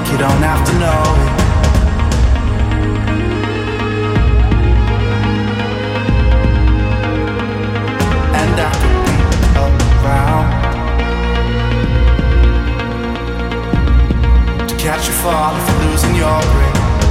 you don't have to know it. And I could be around to catch you fall if you're losing your grip.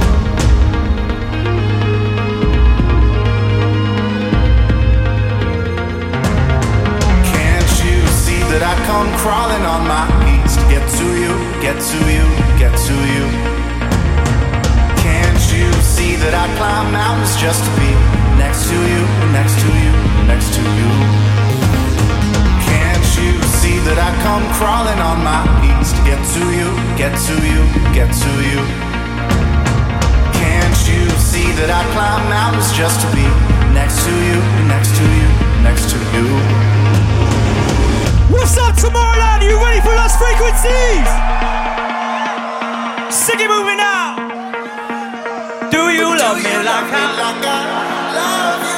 That I come crawling on my knees to get to you, get to you, get to you. Can't you see that I climb mountains just to be next to you, next to you, next to you? Can't you see that I come crawling on my knees to get to you, get to you, get to you? Can't you see that I climb mountains just to be next to you, next to you, next to you? What's up, Tomorrowland? Are you ready for Lost Frequencies? Sing it moving now. Do you love me like I love you?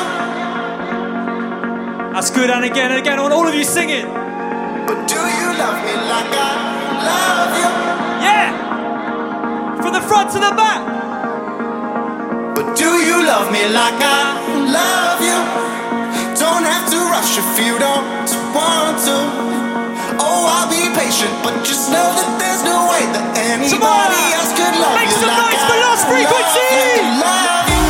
That's good, and again, I want all of you singing. But do you love me like I love you? Yeah! From the front to the back. But do you love me like I love you? Don't have to rush if you don't want to. Oh, I'll be patient, but just know that there's no way that anybody else could love Make you some like noise I for Lost Frequencies! love you.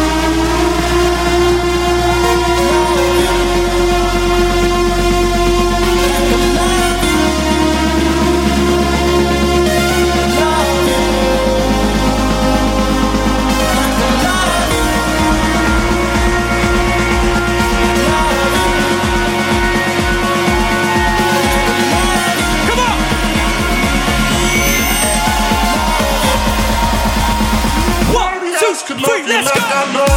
Let's go!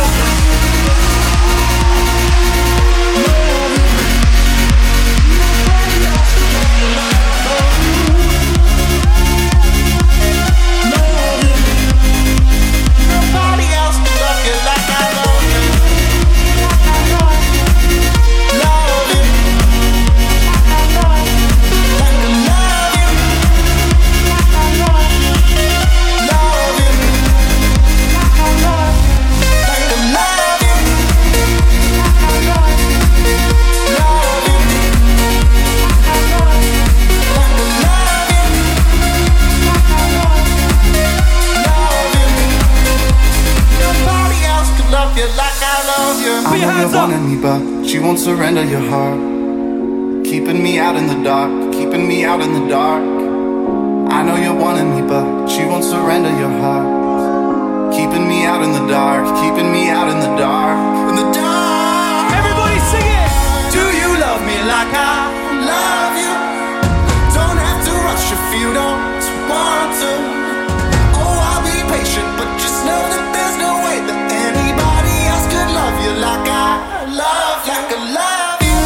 She won't surrender your heart, keeping me out in the dark, keeping me out in the dark. I know you're wanting me, but she won't surrender your heart, keeping me out in the dark, keeping me out in the dark, in the dark. Everybody sing it! Do you love me like I love you? Don't have to rush if you don't want to. Oh, I'll be patient, but just know that there's no way that anybody else could love you like I love, like I love you.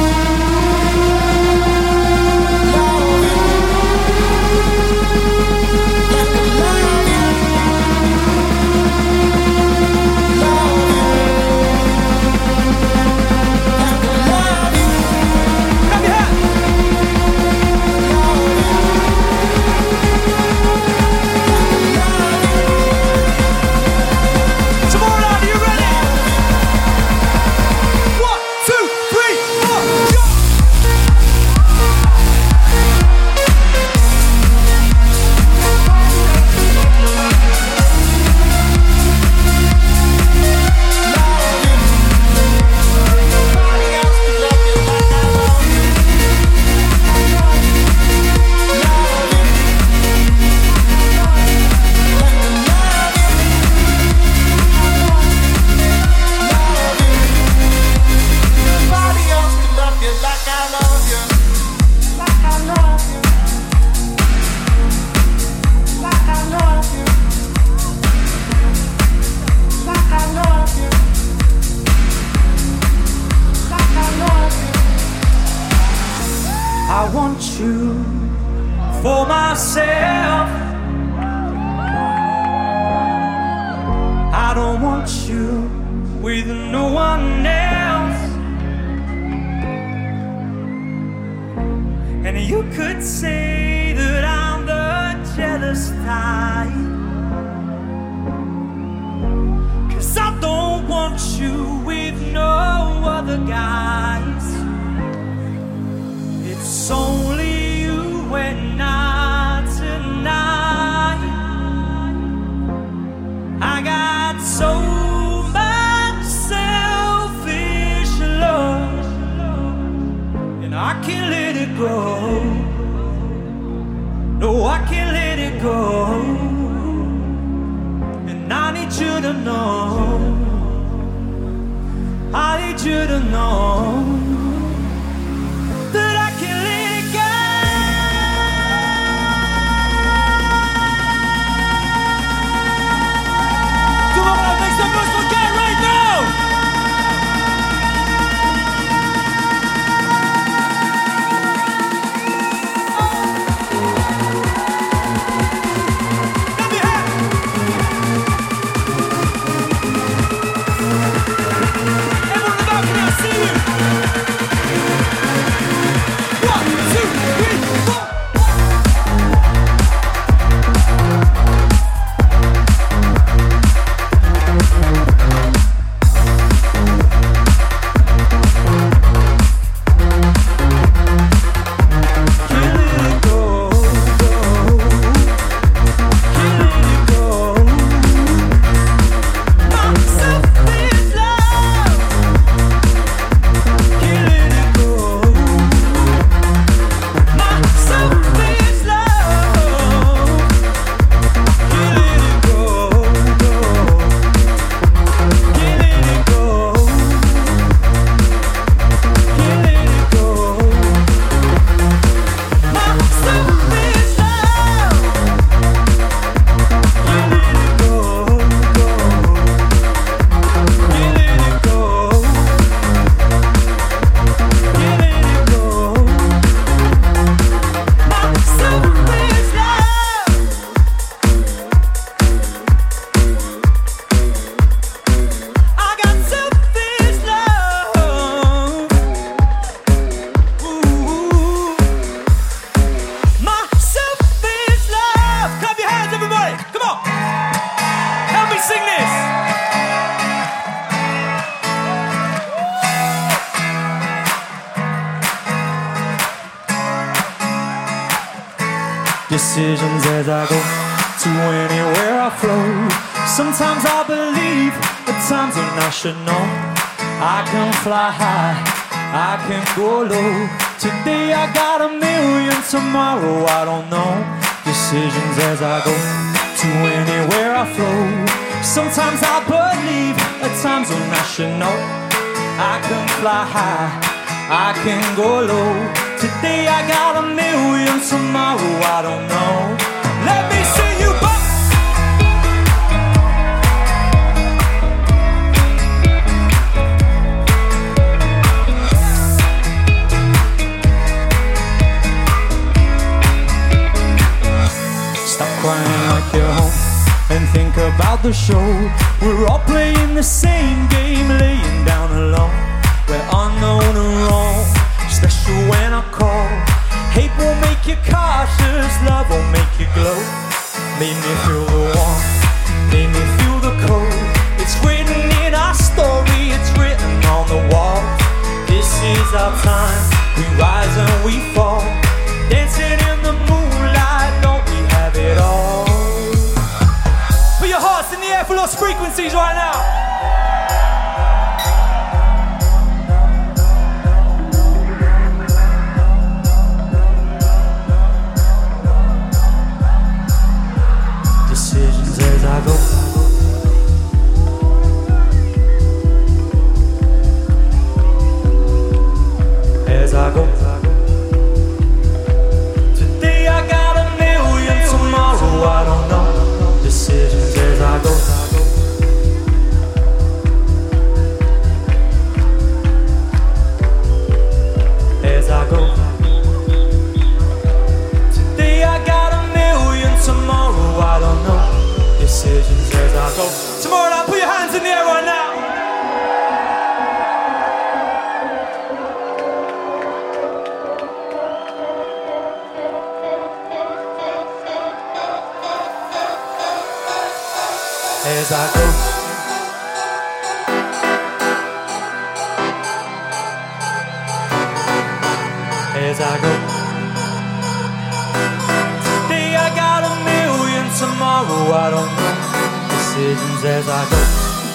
Love you. Like I love you. Love you. Like I love you. Clap your hands. Love you. Tomorrowland, are you ready? 1, 2, 3, 4, go! I want you for myself. I don't want you with no one else. And you could say that I'm the jealous first time. 'Cause I don't want you with no other guys. It's only you and I tonight. I got so much selfish love, and I can't let it go. No, I can't let it go. And I need you to know, I need you to know that I can't let it go. Come on, make some noise for Kat right now! Decisions as I go to anywhere I flow. Sometimes I believe, at times when I should know. I can fly high, I can go low. Today I got a million, tomorrow I don't know. Decisions as I go to anywhere I flow. Sometimes I believe, at times when I should know. I can fly high, I can go low. Today I got a million, tomorrow I don't know. Let me see you bump. Stop crying like you're home and think about the show. We're all playing the same game, laying down alone. We're unknown and wrong, special when I call. Hate won't make you cautious, love won't make you glow. Made me feel the warmth, made me feel the cold. It's written in our story, it's written on the wall. This is our time, we rise and we fall. Dancing in the moonlight, don't we have it all? Put your hearts in the air for lost frequencies right now. Decisions as I go. As I go. Today I got a million, tomorrow I don't know. Decisions as I go. As I go. Today I got a million, tomorrow I don't know. Decisions as I go. Tomorrow night, put your hands in the air right now. as I go. As I go. Today I got a million, tomorrow I don't know. Decisions as I go.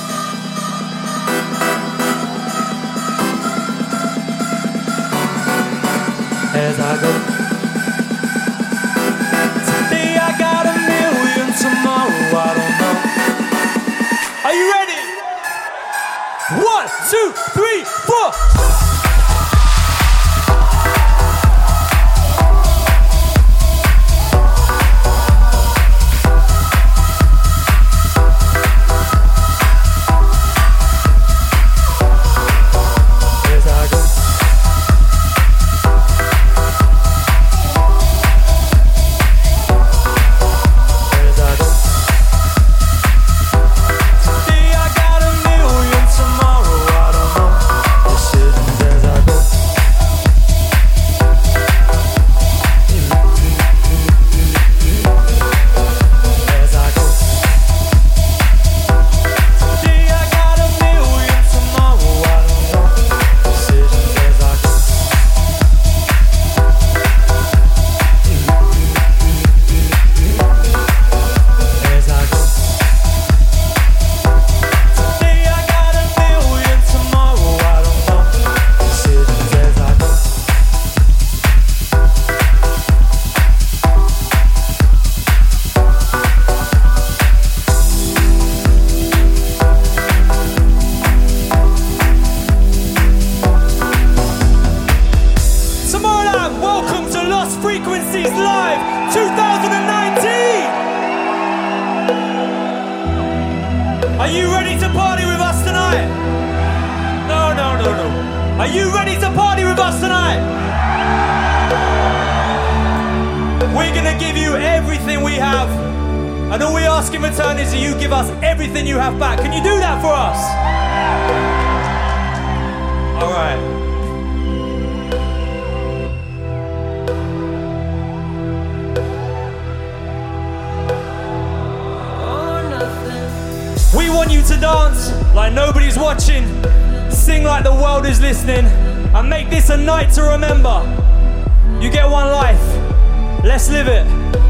As I go. Today I got a million, tomorrow I don't know. Are you ready? 1, 2, 3, 4. Frequencies Live 2019! Are you ready to party with us tonight? No. Are you ready to party with us tonight? We're gonna give you everything we have, and all we ask in return is that you give us everything you have back. Can you do that for us? All right. We want you to dance like nobody's watching, sing like the world is listening, and make this a night to remember. You get one life, let's live it.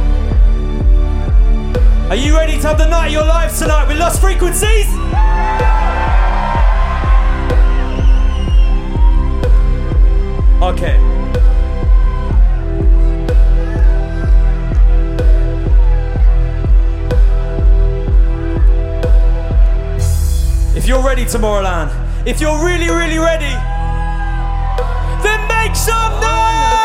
Are you ready to have the night of your lives tonight with Lost Frequencies? Okay. If you're ready, Tomorrowland, if you're really, really ready, then make some noise!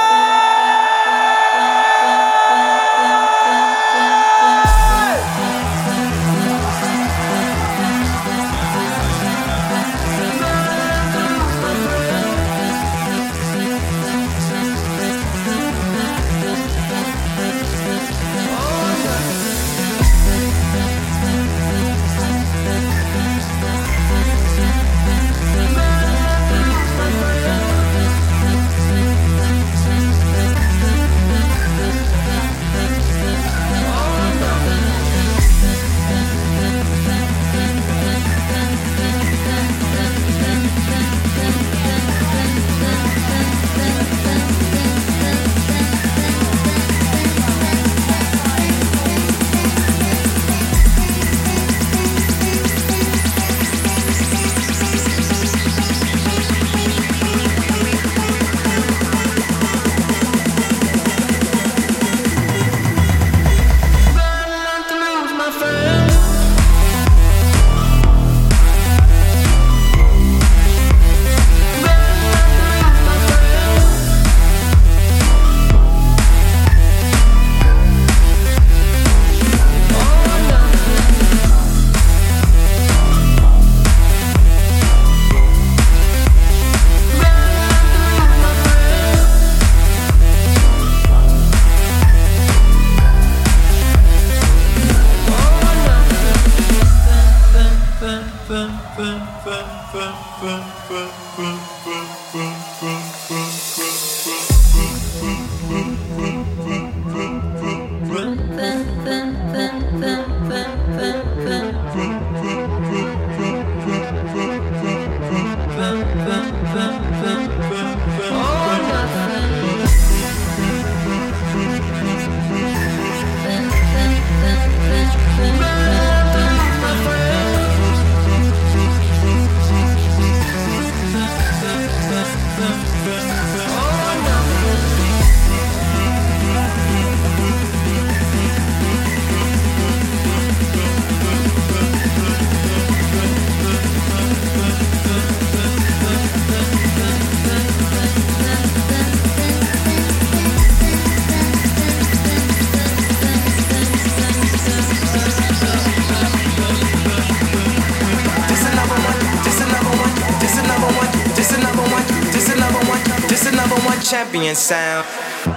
champion sound.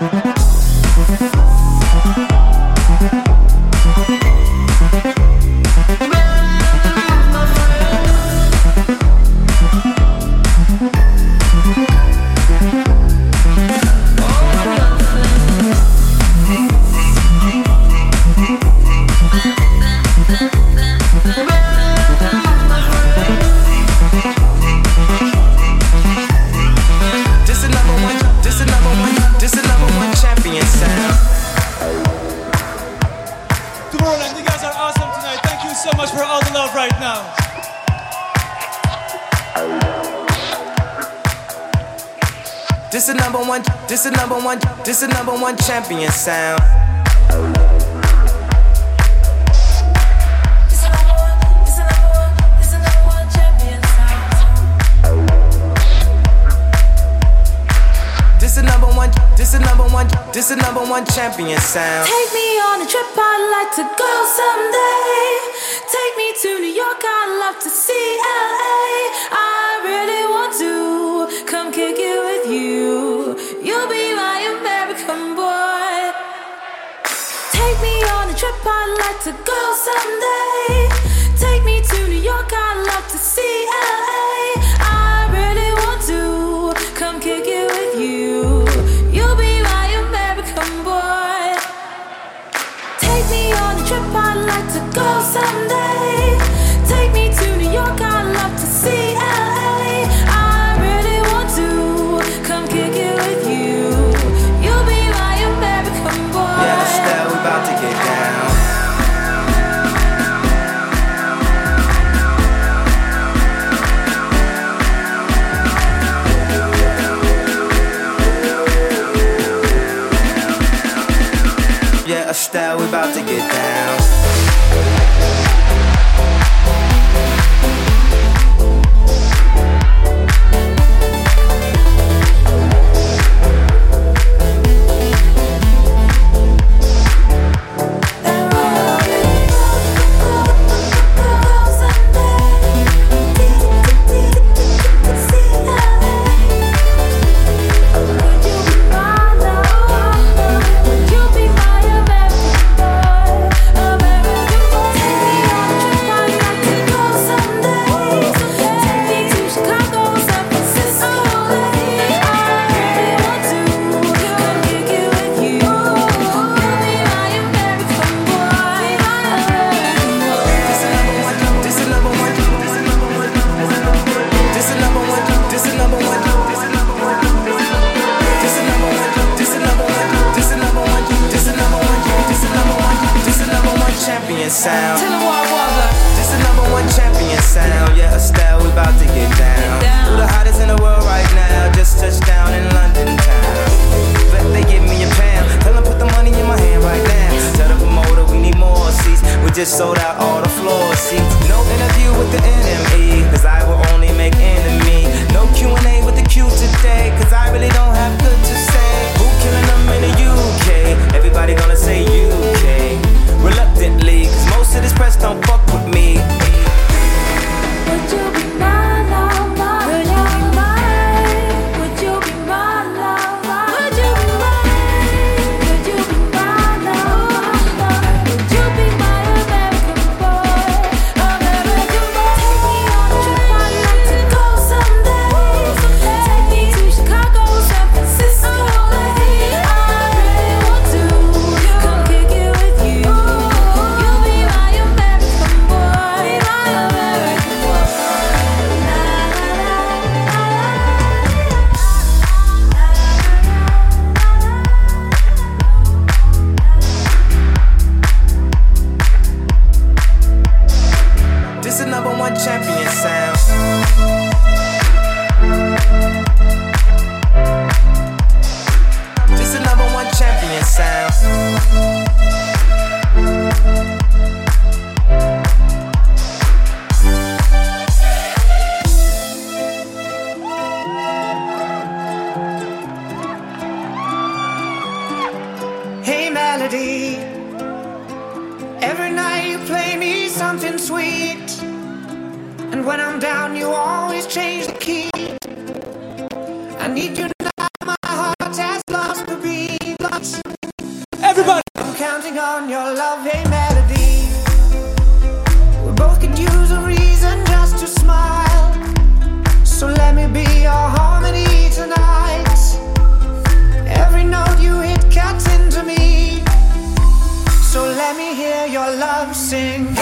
This the number one champion sound. This the number one champion sound. Take me on a trip, I'd like to go someday. Take me to New York, I'd love to see LA. I really want to come kick it with you. You'll be my American boy. Take me on a trip, I'd like to go someday. Take me to New York, I'd love to see LA. I really want to come kick it with you. You'll be my American boy. Take me on a trip, I'd like to go someday. Take me to New York, I'd love to see LA. I really want to come kick it with you. You'll be my American boy. Yeah, Estelle, we about to get down. Yeah, Estelle, we about to get down. Sound. This the number one champion sound. Yeah, Estelle, we about to get down. Who the hottest in the world right now? Just touched down in London town. Bet they give me a pound. Tell them put the money in my hand right now. Tell the promoter we need more seats. We just sold out all the floor seats. No interview with the NME, cause I will only make enemy. No Q&A with the Q today, cause I really don't have good to say. Who killing them in the UK? Everybody gonna say UK. Reluctantly, cause most of this press don't fuck with me. Would you be my lover? Would you be mine? Would you be my lover? Would you be mine? Would you be my lover? Would you be my American boy? American boy. Take me on a trip, I'd like to go someday. Take me to Chicago, San Francisco. I really want to come kick it with you. You'll be my American boy, my American boy. This the number one champion sound. This the number one champion sound. Hey Melody, every night you play me something sweet, and when I'm down you always change the key. I need you now, my heart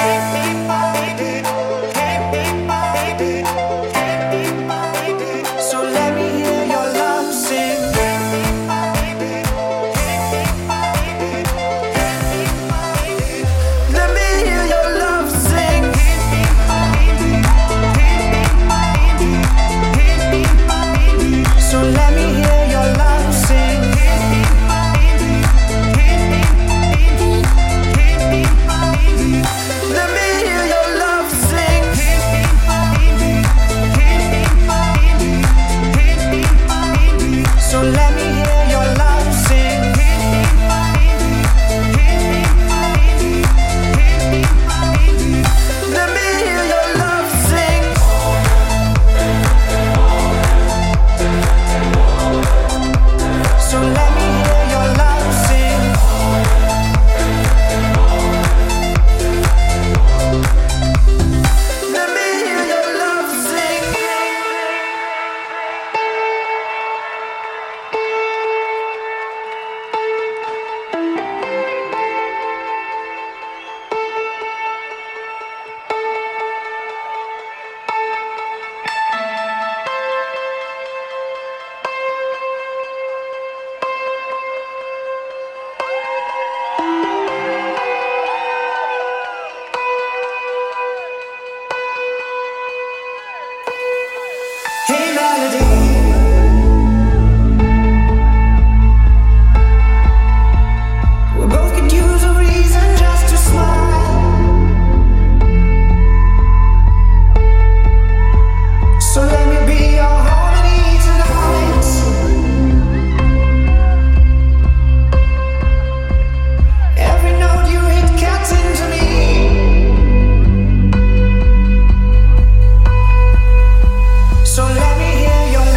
So let me hear your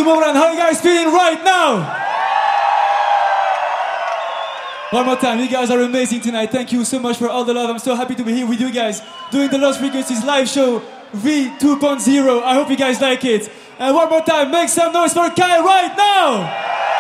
Tomorrowland, how are you guys feeling right now? One more time, you guys are amazing tonight. Thank you so much for all the love. I'm so happy to be here with you guys doing the Lost Frequencies live show V2.0. I hope you guys like it. And one more time, make some noise for Kai right now!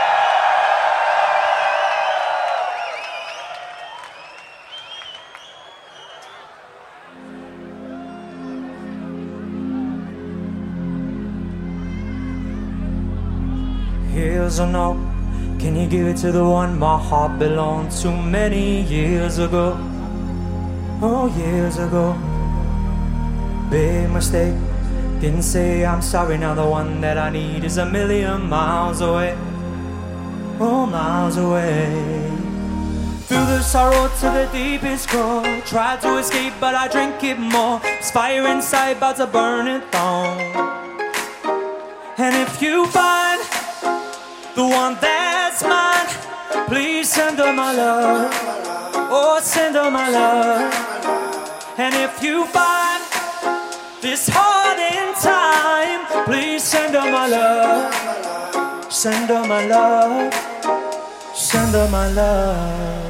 Here's or no? Can you give it to the one my heart belonged to many years ago? Oh, years ago. Big mistake. Didn't say I'm sorry, now the one that I need is a million miles away. Oh, miles away. Through the sorrow to the deepest core. Tried to escape, but I drink it more. It's fire inside, about to burn it down. And if you find the one that's mine, please send her my love. Oh, send her my love. And if you find this heart in time, please send her my love. Send her my love. Send her my love.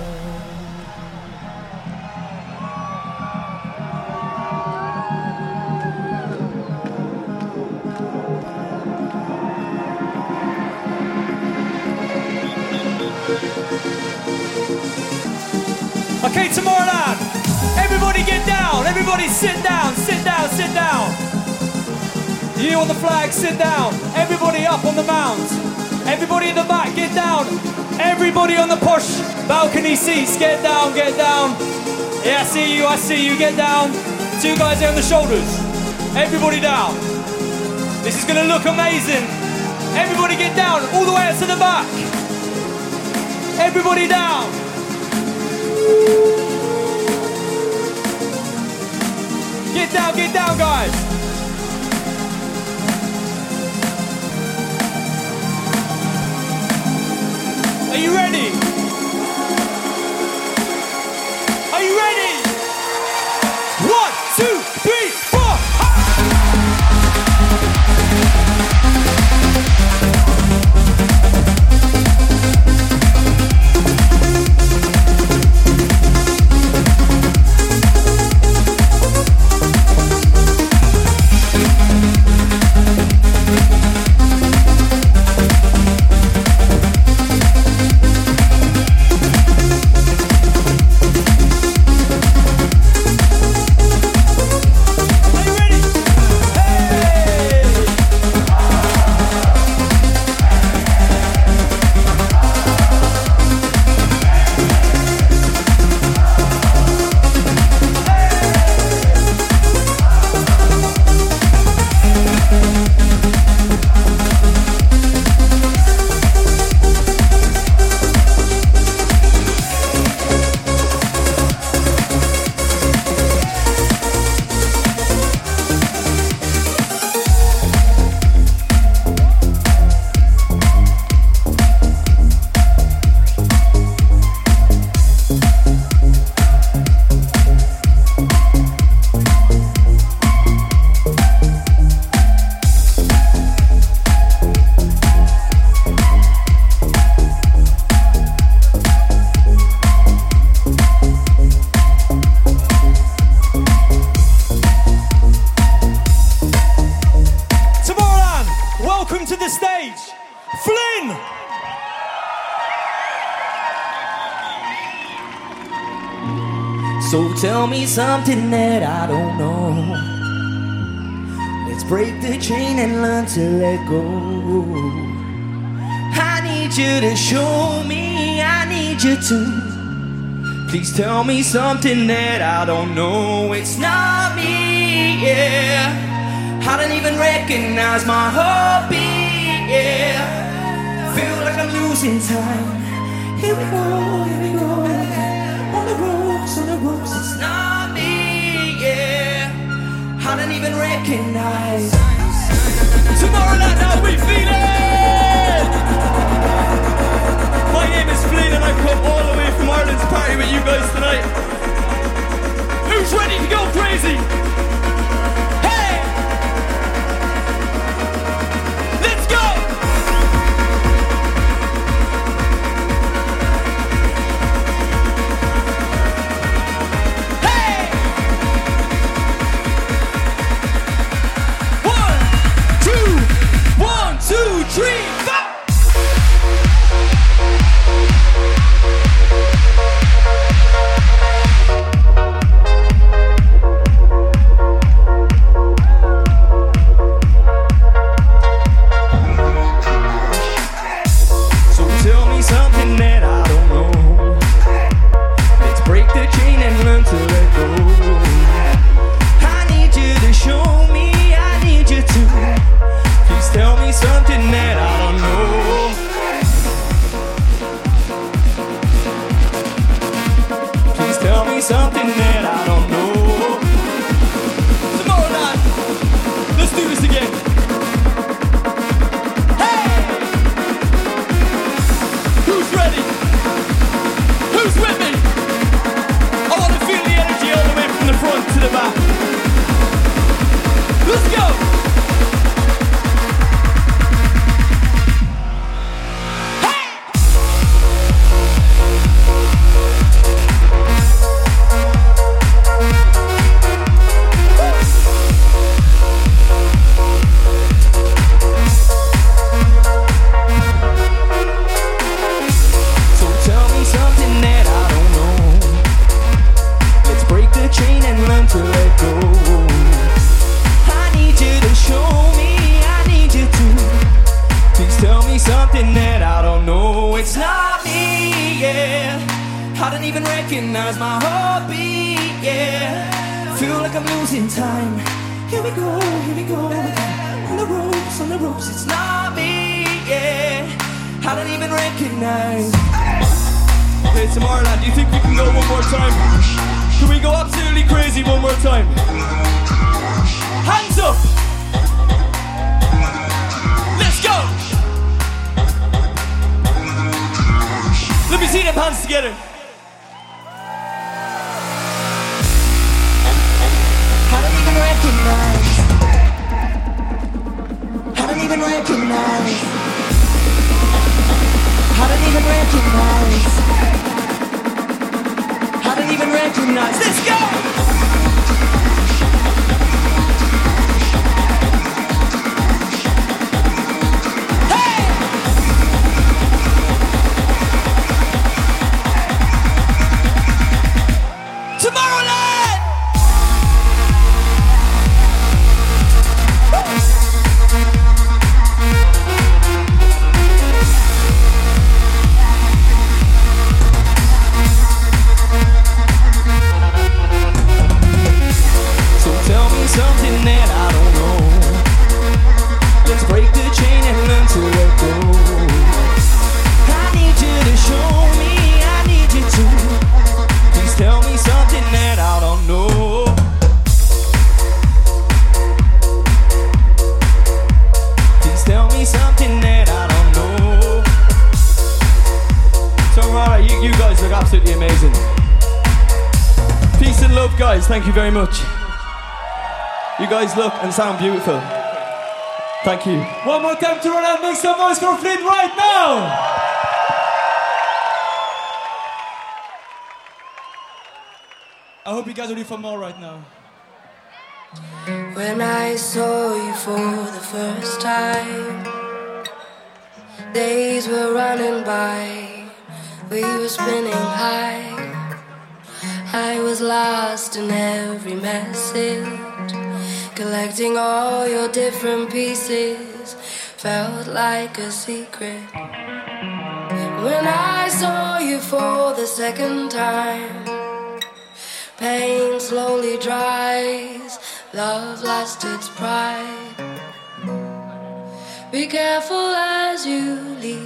Okay, Tomorrowland, everybody get down, everybody sit down, sit down, sit down. You on the flag, sit down. Everybody up on the mount. Everybody in the back, get down. Everybody on the push balcony seats, get down, get down. Yeah, I see you, get down. Two guys there on the shoulders. Everybody down. This is gonna look amazing. Everybody get down, all the way up to the back. Everybody down. Get down, guys. Are you ready? Are you ready? 1, 2, 3, 4. So tell me something that I don't know. Let's break the chain and learn to let go. I need you to show me, I need you to. Please tell me something that I don't know. It's not me, yeah. I don't even recognize my heartbeat, yeah. Feel like I'm losing time. Here we go, here we go. On the ropes, it's not me, yeah. I don't even recognize. Tomorrowland, how we feeling? My name is Flynn and I've come all the way from Ireland to party with you guys tonight. Who's ready to go crazy? Hey! Let's go! recognize my heartbeat, yeah. Feel like I'm losing time. Here we go again. On the ropes, it's not me, yeah. I don't even recognize. Okay, Tomorrowland, do you think we can go one more time? Can we go absolutely crazy one more time? Hands up! Let's go! Let me see them hands together. I don't even recognize. I don't even recognize. I don't even recognize. I don't even recognize. Let's go! Hey! Tomorrowland! Something that I don't know. Let's break the chain and learn to let go. I need you to show me, I need you to. Please tell me something that I don't know. Please tell me something that I don't know. So alright, you guys look absolutely amazing. Peace and love, guys, thank you very much. You guys look and sound beautiful. Thank you. One more time to run out, make some noise for Flynn right now! I hope you guys are ready for more right now. When I saw you for the first time, days were running by, we were spinning high. I was lost in every message, collecting all your different pieces, felt like a secret. When I saw you for the second time, pain slowly dries, love lost its pride. Be careful as you leave.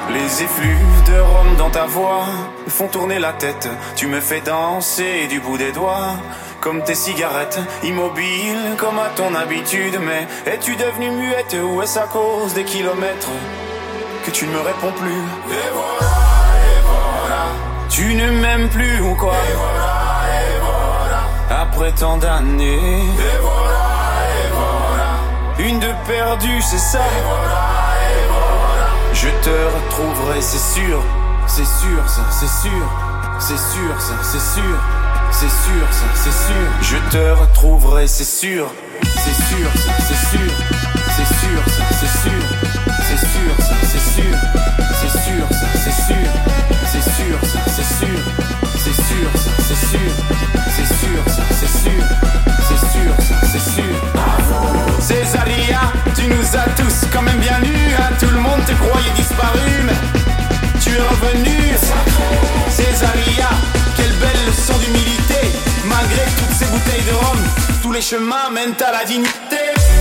Les effluves de rhum dans ta voix me font tourner la tête. Tu me fais danser du bout des doigts, comme tes cigarettes, immobile comme à ton habitude. Mais es-tu devenue muette ou est-ce à cause des kilomètres que tu ne me réponds plus? Et voilà, tu ne m'aimes plus ou quoi? Et voilà, après tant d'années. Et voilà, une de perdue, c'est ça. Et voilà, je te retrouverai, c'est sûr. C'est sûr, ça, c'est sûr. C'est sûr, ça, c'est sûr. C'est sûr, ça, c'est sûr. Je te retrouverai, c'est sûr. C'est sûr, ça, c'est sûr. C'est sûr, ça, c'est sûr. C'est sûr, ça, c'est sûr. C'est sûr, ça, c'est sûr. C'est sûr, ça, c'est sûr. C'est sûr, ça, c'est sûr. C'est sûr, ça, c'est sûr. C'est sûr, ça, c'est sûr. Césaria, tu nous as tous quand même bien nus, hein. Tout le monde te croyait disparu, mais tu es revenu. Césaria, quelle belle leçon d'humilité. Malgré toutes ces bouteilles de rhum, tous les chemins mènent à la dignité.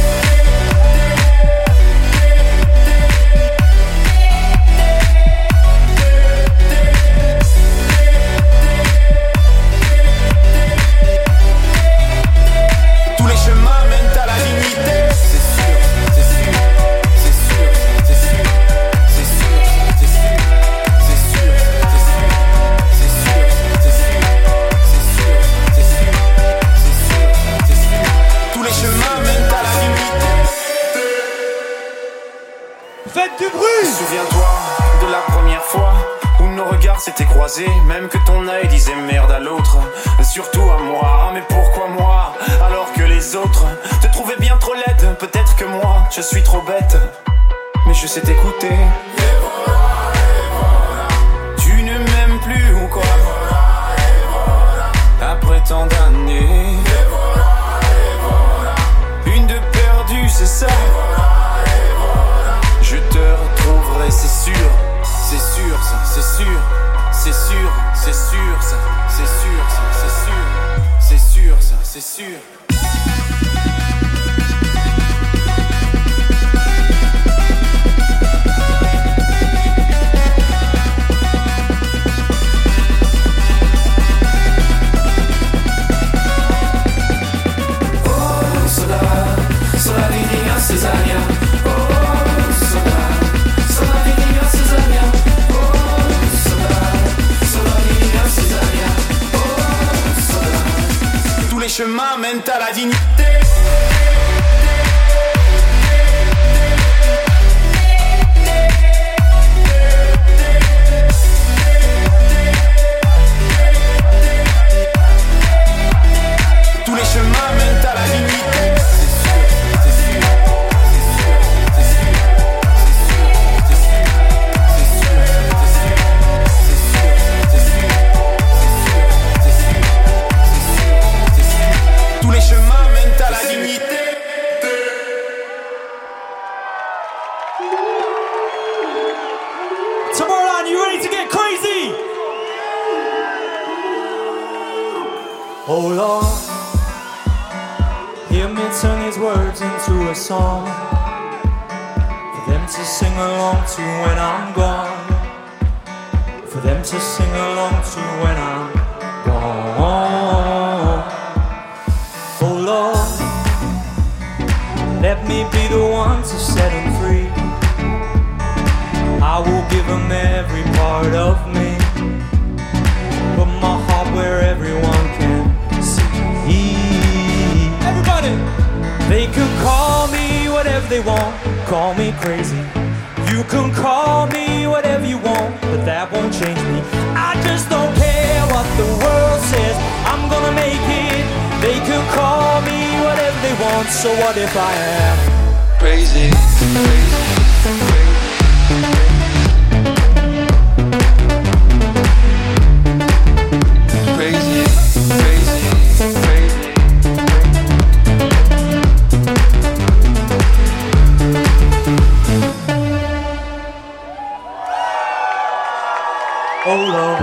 Tous les chemins mènent à la dignité. C'est sûr, c'est sûr, c'est sûr, c'est sûr, c'est sûr, c'est sûr, c'est sûr, c'est sûr, c'est sûr, c'est sûr, c'est sûr, c'est sûr, c'est sûr, c'est sûr. Tous les chemins mènent à la dignité. Faites du bruit! Souviens-toi de la première fois où nos regards s'étaient croisés, même que ton œil disait merde à l'autre, surtout à moi. Mais pourquoi moi, alors que les autres te trouvaient bien trop laide? Peut-être que moi, je suis trop bête, mais je sais t'écouter. Et voilà, tu ne m'aimes plus ou quoi? Et voilà, après tant d'années. Et voilà, une de perdue, c'est ça. Je te retrouverai, c'est sûr. C'est sûr, ça, c'est sûr. C'est sûr, c'est sûr, ça. C'est sûr, ça, c'est sûr. C'est sûr, ça, c'est sûr. Oh, sola linea Cesarea. Oh, sola linea Cesarea. Oh, sola linea Cesarea. Oh, sola. Tous les chemins mènent à la dignité. Tous les chemins mènent à la dignité. C'est sûr, c'est sûr, c'est sûr, c'est sûr, c'est sûr, c'est sûr, c'est sûr, c'est sûr, c'est sûr, c'est sûr, c'est sûr, c'est sûr, c'est sûr. Tous les chemins mènent à la dignité. Tomorrowland, you ready to get crazy? Oh Lord, hear me turn his words into a song for them to sing along to when I'm gone. For them to sing along to when I'm gone. Oh Lord, let me be the one to set him free. I will give them every part of me, put my heart where everyone can see. Everybody! They can call me whatever they want, call me crazy. You can call me whatever you want, but that won't change me. I just don't care what the world says, I'm gonna make it. They can call me whatever they want, so what if I am crazy, crazy, crazy. Crazy, crazy, crazy. Oh Lord,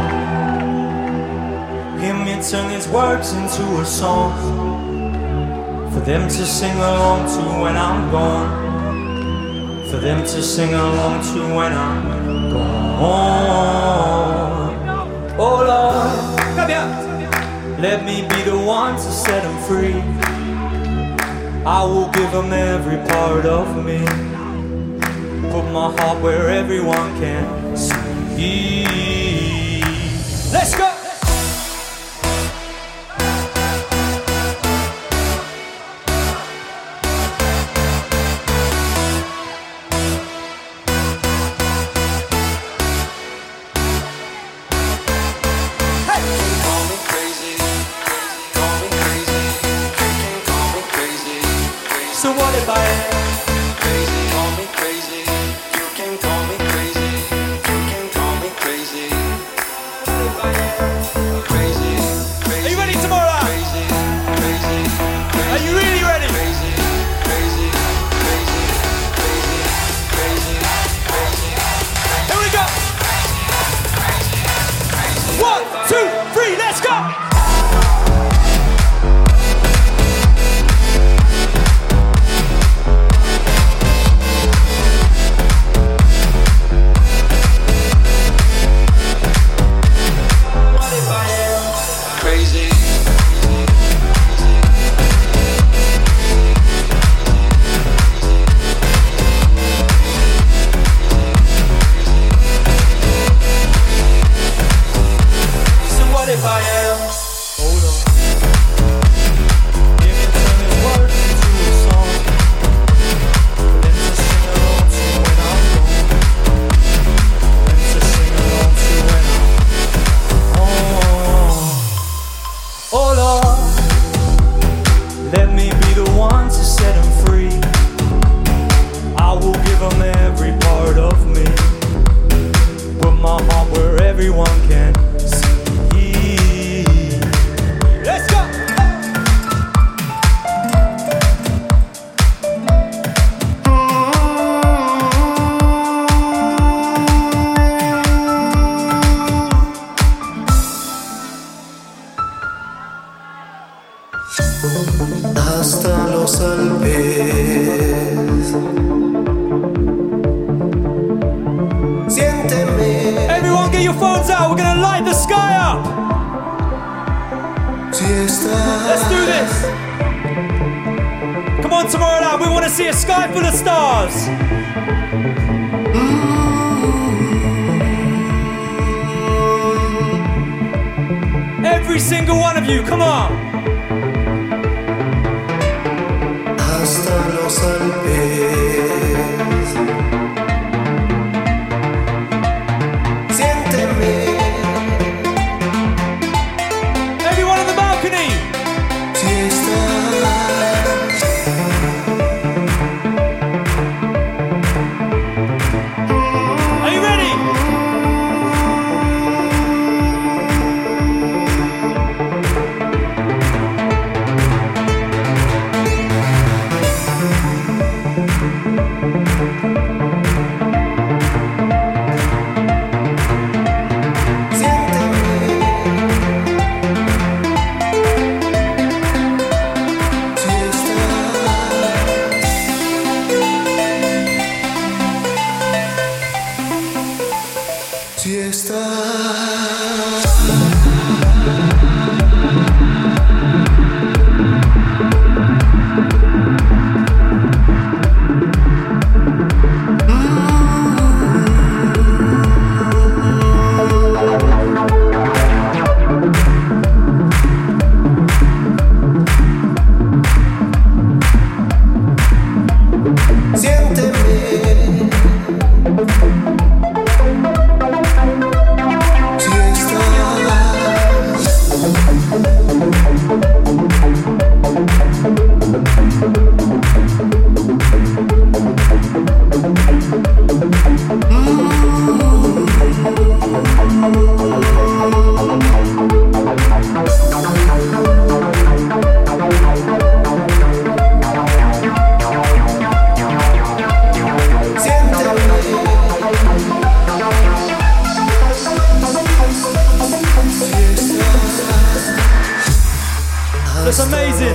hear me turn his words into a song for them to sing along to when I'm gone. For them to sing along to when I'm gone. on. Oh Lord, come here. Let me be the one to set them free. I will give them every part of me. Put my heart where everyone can see. Let's go! So what if I am crazy? Call me crazy. You can call me crazy. You can call me crazy. What if I am crazy? Crazy. Are you ready tomorrow? Crazy. Crazy. Crazy. Are you really ready? Crazy. Crazy. Crazy. Crazy. Crazy. Crazy. Here we go. 1, 2, 3, let's go. Crazy. So what if I am? Hold on. Give me turn these words into a song. Then to sing along to when I'm gone. Then to sing along to when I'm gone. Oh Lord, let me be the one to set them free. I will give them every part of me. Put my heart where everyone can see. Let's go! Hasta los Alpes. Siénteme. Everyone get your phones out, we're gonna light the sky up! Si estás. Let's do this! Come on, Tomorrowland, we wanna see a sky full of stars! Every single one of you, come on! Hasta los Alpes. Siénteme. Everyone on the balcony! Si estás. Are you ready? Si estás. That's amazing.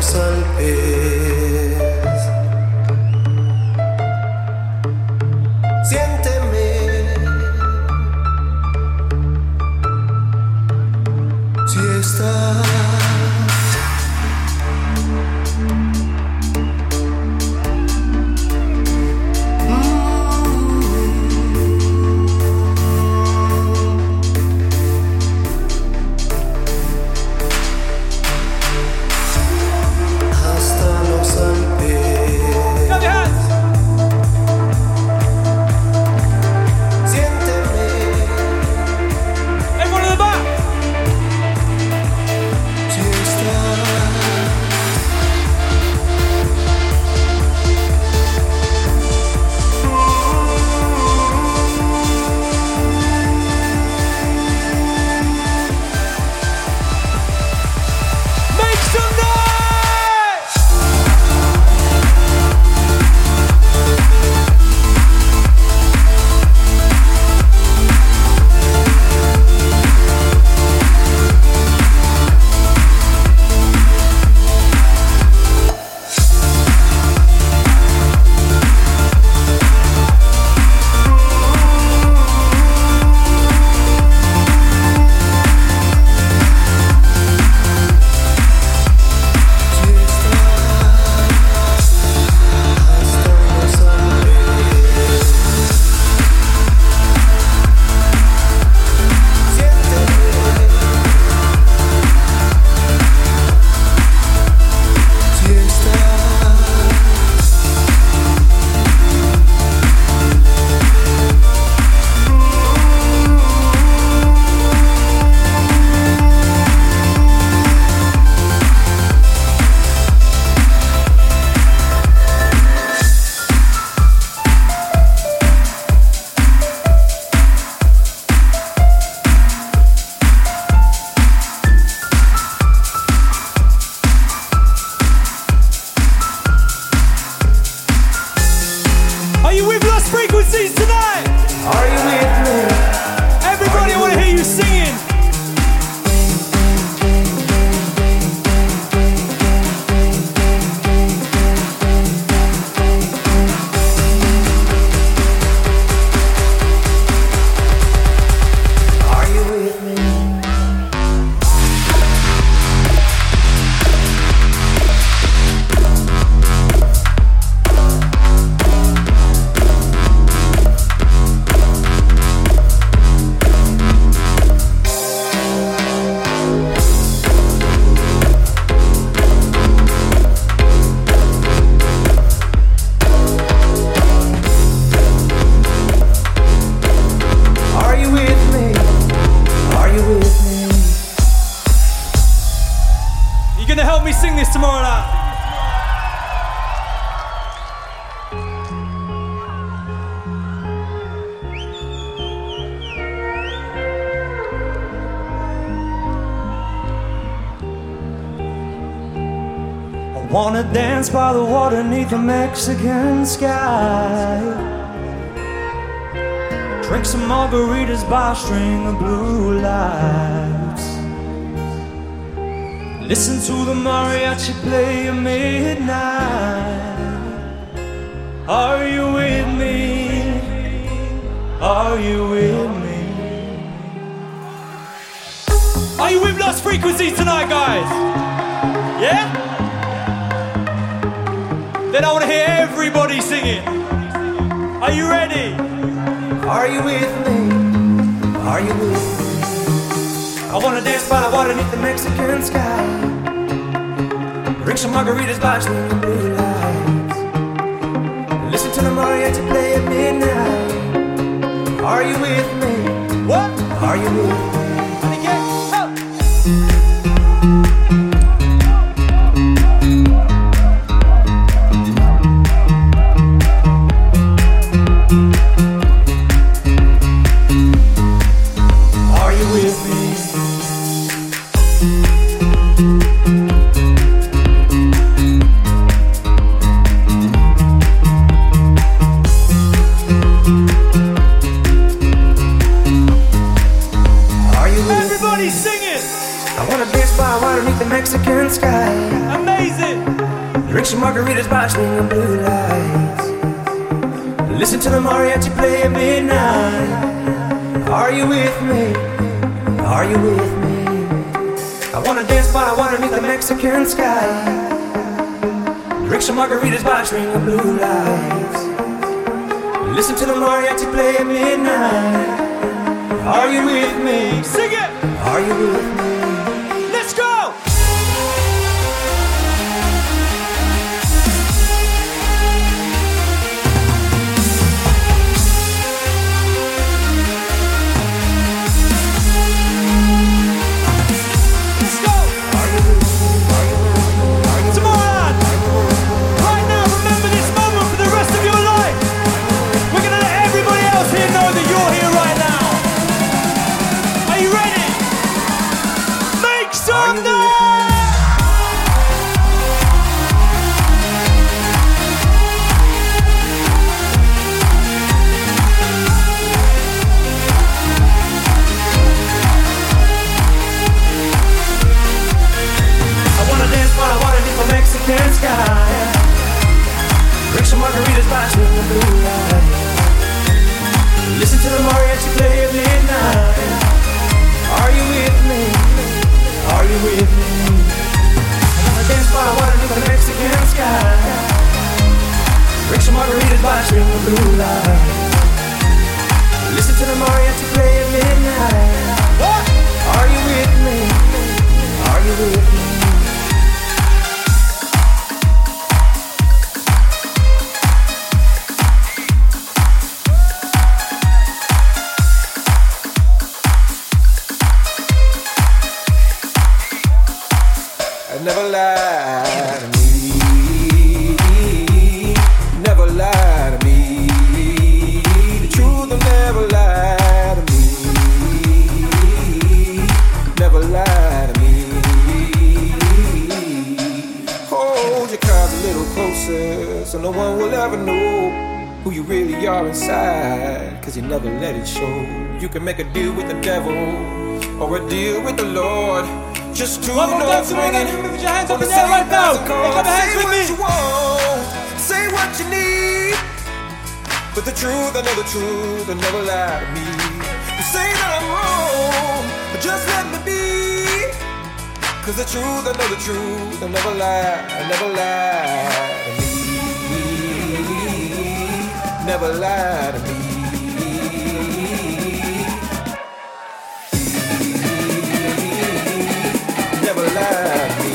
me sing this tomorrow night. I wanna dance by the water beneath the Mexican sky. Drink some margaritas by a string of blue lights. Listen to the mariachi play at midnight. Are you with me? Are you with me? Are you with Lost Frequencies tonight, guys? Yeah? Then I want to hear everybody singing. Are you ready? Are you with me? Are you with me? I wanna dance by the water beneath the Mexican sky. Drink some margaritas by swinging blue lights. Listen to the mariachi play at midnight. Are you with me? What? Are you with me? And again, up. Mexican sky. Amazing. Drink some margaritas by swinging blue lights. Listen to the mariachi play at midnight. Are you with me? Are you with me? I wanna dance by the water beneath the Mexican sky. Drink some margaritas by swinging blue lights. Listen to the mariachi play at midnight. Are you with me? Sing it. Are you with me? Let's go. Listen to the mariachi play at midnight. Are you with me? Are you with me? I wanna dance by the water beneath the Mexican sky. Drink some margaritas by a string of blue lights. Listen to the mariachi play at midnight. What? Are you with me? Are you with me? Never lie to me. Never lie to me. The truth will never lie to me. Never lie to me. Hold your cards a little closer, so no one will ever know who you really are inside. 'Cause you never let it show. You can make a deal with the devil or a deal with the Lord. Just two notes ringing. Put your hands up in the air right now. Clap your hands with me. Say what you want, say what you need. But the truth, I know the truth, will never lie to me. You say that I'm wrong, but just let me be. 'Cause the truth, I know the truth, will never lie to me. Never lie to me. Never lie to me.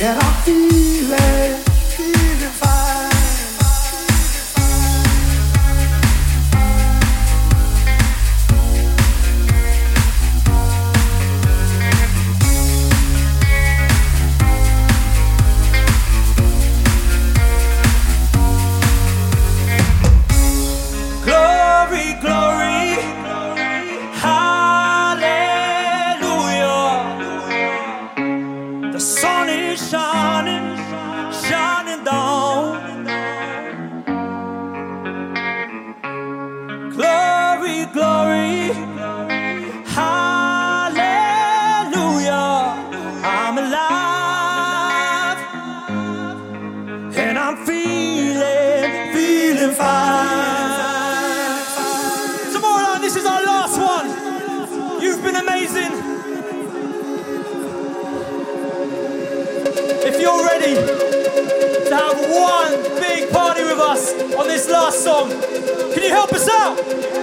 and I'm feeling fine. Glory, glory, hallelujah. The sun is shining, shining down. Glory, glory, hallelujah. I'm alive and I'm feeling fine. Tomorrow, this is our last one. You've been amazing. If you're ready to have one big party with us on this last song, can you help us out?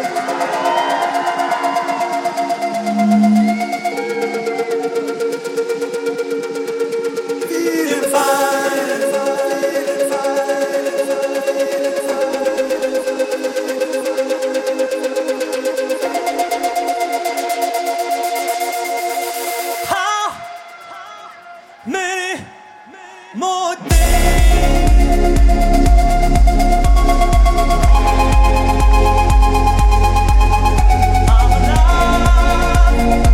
Feeling fine. How many more days? I'm alive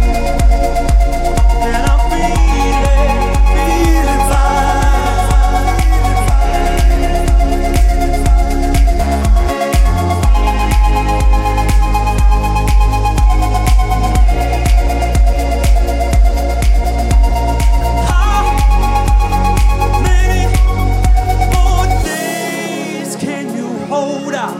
and I'm feeling fine. How many more days can you hold out?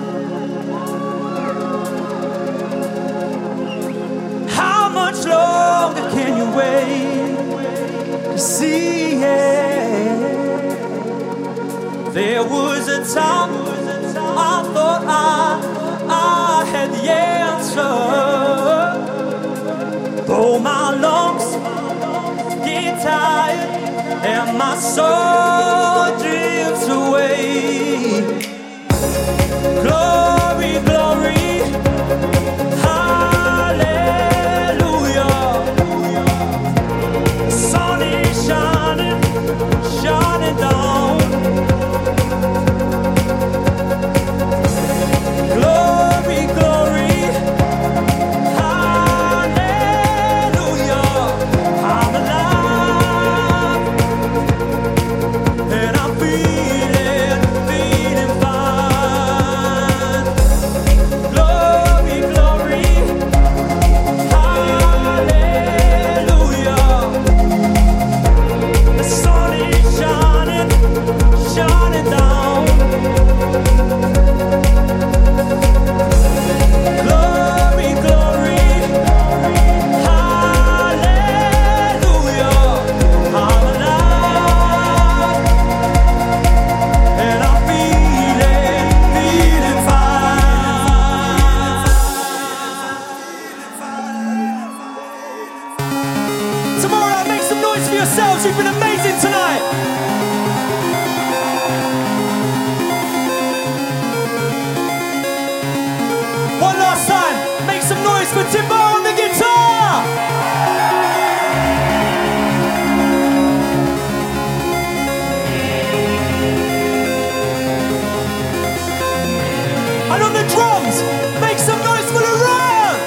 How much longer can you wait to see it? There was a time I thought I had the answer. Though my lungs get tired and my soul drifts away. Glory, glory, hallelujah. The sun is shining, shining down. Glory, glory, hallelujah. I'm alive and I'm feeling fine. Glory, glory, hallelujah. The sun is shining, shining down. Glory, glory, hallelujah. I'm alive and I'm feeling fine. Tomorrow, make some noise for yourselves. You've been amazing tonight. One last time, make some noise for Timbo on the guitar. And on the drums, make some noise for Laurent.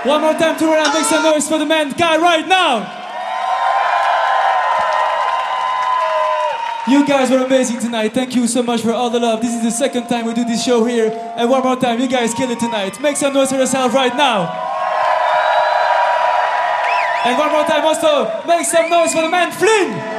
One more time, turn around, make some noise for the man guy right now. You guys were amazing tonight. Thank you so much for all the love. This is the second time we do this show here. And one more time, you guys kill it tonight. Make some noise for yourself right now. And one more time also, make some noise for the man Flynn.